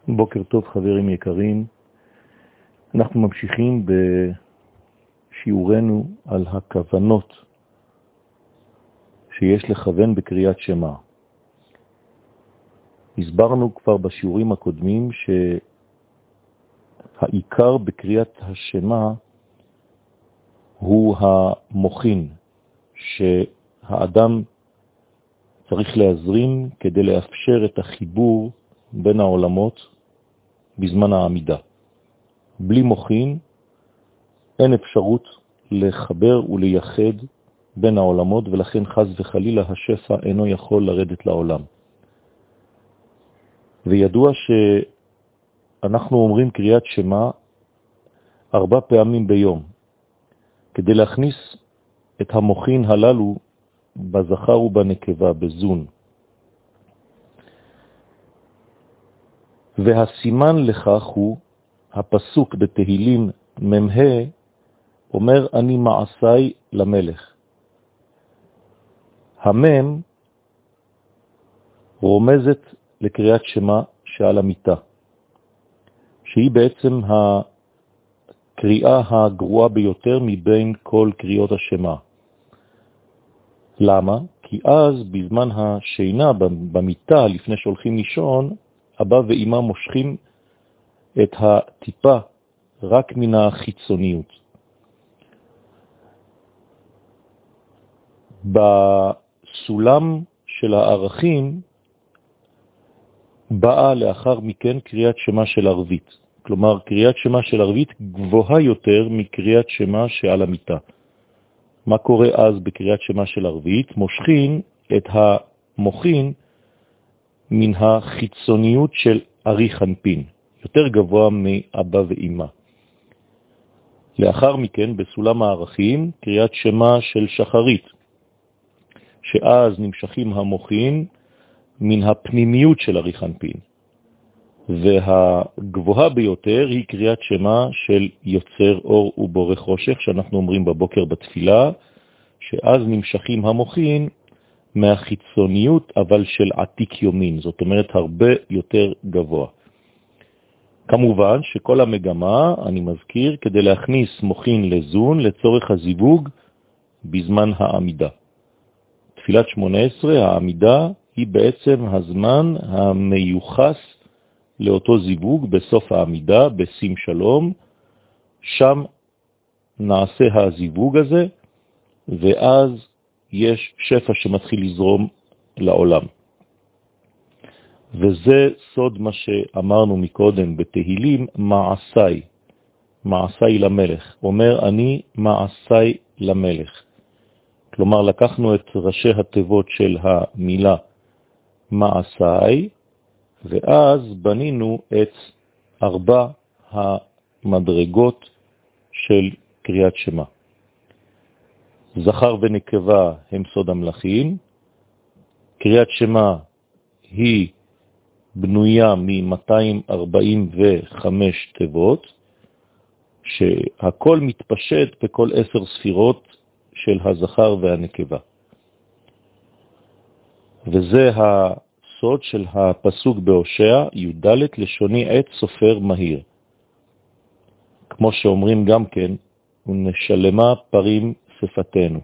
בוקר טוב חברים יקרים, אנחנו ממשיכים בשיעורנו על הכוונות שיש לכוון בקריאת שמע. הסברנו כבר בשיעורים הקודמים שהעיקר בקריאת השמע הוא המוחין שהאדם צריך להזרים כדי לאפשר את החיבור בין העולמות בזמן העמידה. בלי מוחין אין אפשרות לחבר ולייחד בין העולמות, ולכן חז וחלילה השפע אינו יכול לרדת לעולם. וידוע שאנחנו אומרים קריאת שמע 4 פעמים ביום, כדי להכניס את המוחין הללו בזכר ובנקבה, בזון. והסימן לכך הוא הפסוק בתהילים ממה, אומר אני מעשי למלך. המם רומזת לקריאת שמע שעל המיטה, שהיא בעצם הקריאה הגרועה ביותר מבין כל קריאות השמע. למה? כי אז בזמן השינה במיטה לפני שהולכים לישון, אבא ואמא מושכים את הטיפה רק מן החיצוניות. בסולם של הערכים באה לאחר מכן קריאת שמע של ערבית. כלומר, קריאת שמע של ערבית גבוהה יותר מקריאת שמע שעל המיטה. מה קורה אז בקריאת שמע של ערבית? מושכים את המוחין מן החיצוניות של ארי חנפין, יותר גבוה מאבא ואמא. לאחר מכן, בסולם הערכים, קריאת שמע של שחרית, שאז נמשכים המוחין מן הפנימיות של ארי חנפין. והגבוהה ביותר היא קריאת שמע של יוצר אור ובורא חושך, שאנחנו אומרים בבוקר בתפילה, שאז נמשכים המוחין מהחיצוניות אבל של עתיק יומין, זאת אומרת הרבה יותר גבוה. כמובן שכל המגמה, אני מזכיר, כדי להכניס מוחין לזון לצורך הזיווג בזמן העמידה. תפילת 18, העמידה היא בעצם הזמן המיוחס לאותו זיווג בסוף העמידה, בשים שלום. שם נעשה הזיווג הזה, ואז יש שפע שמתחיל לזרום לעולם. וזה סוד מה שאמרנו מקודם בתהילים, מעשי, מעשי למלך. אומר אני מעשי למלך. כלומר לקחנו את ראשי התיבות של המילה מעשי, ואז בנינו את 4 המדרגות של קריאת שמע. זכר ונקבה הם סוד המלכים. קריאת שמע היא בנויה מ-245 תיבות, שהכל מתפשט בכל 10 ספירות של הזכר והנקבה. וזה הסוד של הפסוק בהושע, י"ד לשוני עת סופר מהיר. כמו שאומרים גם כן, ונשלמה פרים שפתנו.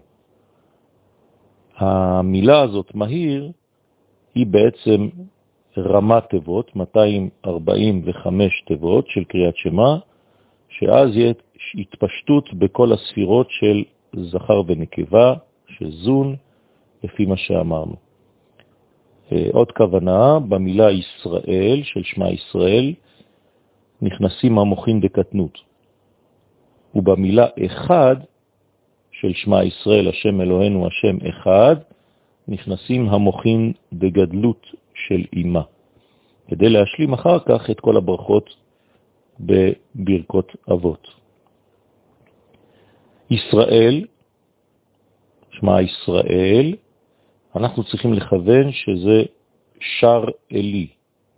המילה הזאת מהיר היא בעצם רמת תיבות, 245 תיבות של קריאת שמע, שאז יהיה התפשטות בכל הספירות של זכר ונקבה, שזון, לפי מה שאמרנו. עוד כוונה, במילה ישראל, של שמה ישראל, נכנסים המוחין בקטנות. ובמילה אחד, של שמה ישראל, השם אלוהינו, השם אחד, נכנסים המוחין בגדלות של אימה, כדי להשלים אחר כך את כל הברכות בברכות אבות. ישראל, שמה ישראל, אנחנו צריכים לכוון שזה שר אלי.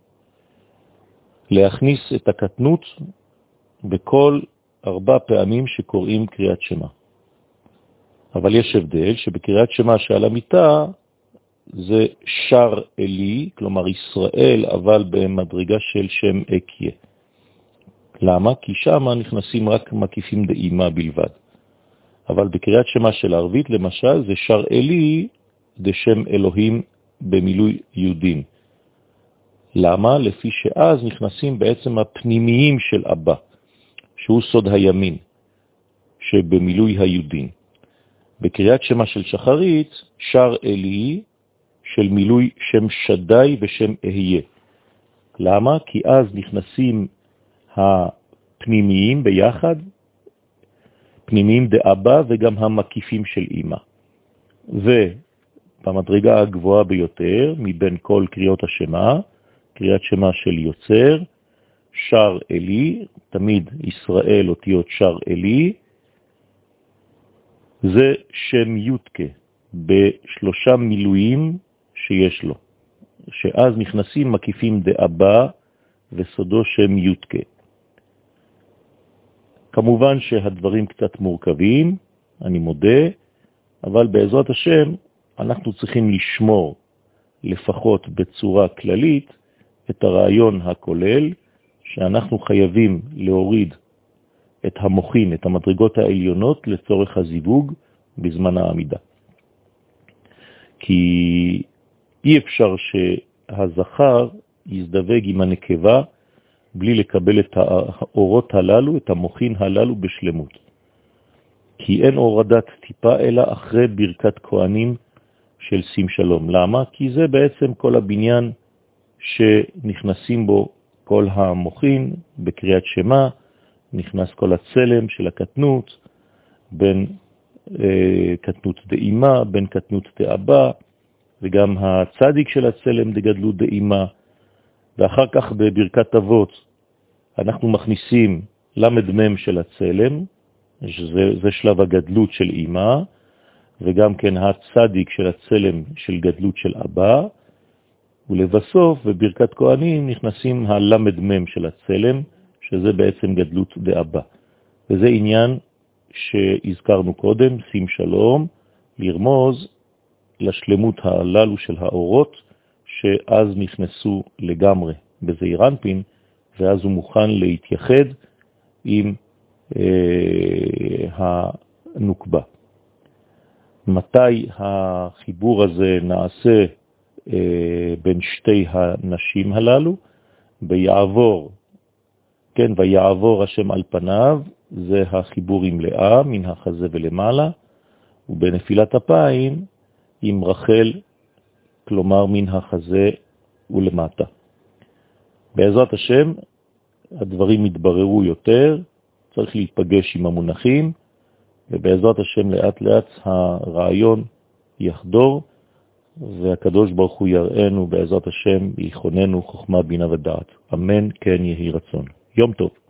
להכניס את הקטנות בכל 4 פעמים שקוראים קריאת שמע. אבל יש הבדל שבקריאת שמע שעל המיטה זה שר אלי, כלומר ישראל, אבל במדרגה של שם אקיה. למה? כי שם נכנסים רק מקיפים דאימה בלבד. אבל בקריאת שמה של ערבית, למשל, זה שר אלי דשם אלוהים במילוי יהודים. למה? לפי שאז נכנסים בעצם הפנימיים של אבא, שהוא סוד הימין, שבמילוי היהודים. בקריאת שמה של שחרית, שר אלי של מילוי שם שדי ושם אהיה. למה? כי אז נכנסים הפנימיים ביחד, פנימיים דאבא וגם המקיפים של אמא. ובמדרגה הגבוהה ביותר, מבין כל קריאות השמה, קריאת שמה של יוצר, שר אלי, תמיד ישראל אותיות שר אלי, זה שם יודקה, בשלושה מילואים שיש לו, שאז נכנסים מקיפים דאבא וסודו שם יודקה. כמובן שהדברים קצת מורכבים, אני מודה, אבל בעזרת השם אנחנו צריכים לשמור לפחות בצורה כללית את הרעיון הכולל, שאנחנו חייבים להוריד את המוחין, את המדרגות העליונות לצורך הזיווג בזמן העמידה. כי אי אפשר שהזכר יזדווג עם הנקבה בלי לקבל את האורות הללו, את המוחין הללו בשלמות. כי אין הורדת טיפה אלא אחרי ברכת כהנים של שים שלום. למה? כי זה בעצם כל הבניין שנכנסים בו כל המוחין בקריאת שמה, נכנס כל הצלם של הקטנות, בין קטנות דאימה, בין קטנות דאבא, וגם הצדיק של הצלם דגדלות דאימה. ואחר כך בברכת אבות אנחנו מכניסים למד מם של הצלם, זה שלב הגדלות של אימא, וגם כן הצדיק של הצלם של גדלות של אבא, ולבסוף בברכת כהנים נכנסים הלמד מם של הצלם, שזה בעצם גדלות דאבא. וזה עניין שהזכרנו קודם, שים שלום, לרמוז לשלמות הללו של האורות, שאז נכנסו לגמרי בזעיר אנפין, ואז הוא מוכן להתייחד עם הנוקבה. מתי החיבור הזה נעשה בין שתי הנשים הללו? ביעבור, כן, ויעבור השם על פניו, זה החיבור עם לאה, מן החזה ולמעלה, ובנפילת אפיים עם רחל, כלומר מן החזה ולמטה. בעזרת השם הדברים יתבררו יותר, צריך להיפגש עם המונחים, ובעזרת השם לאט לאט הרעיון יחדור, והקדוש ברוך הוא יראינו בעזרת השם, יכוננו חוכמה בינה ודעת. אמן, כן יהי רצון. יום טוב.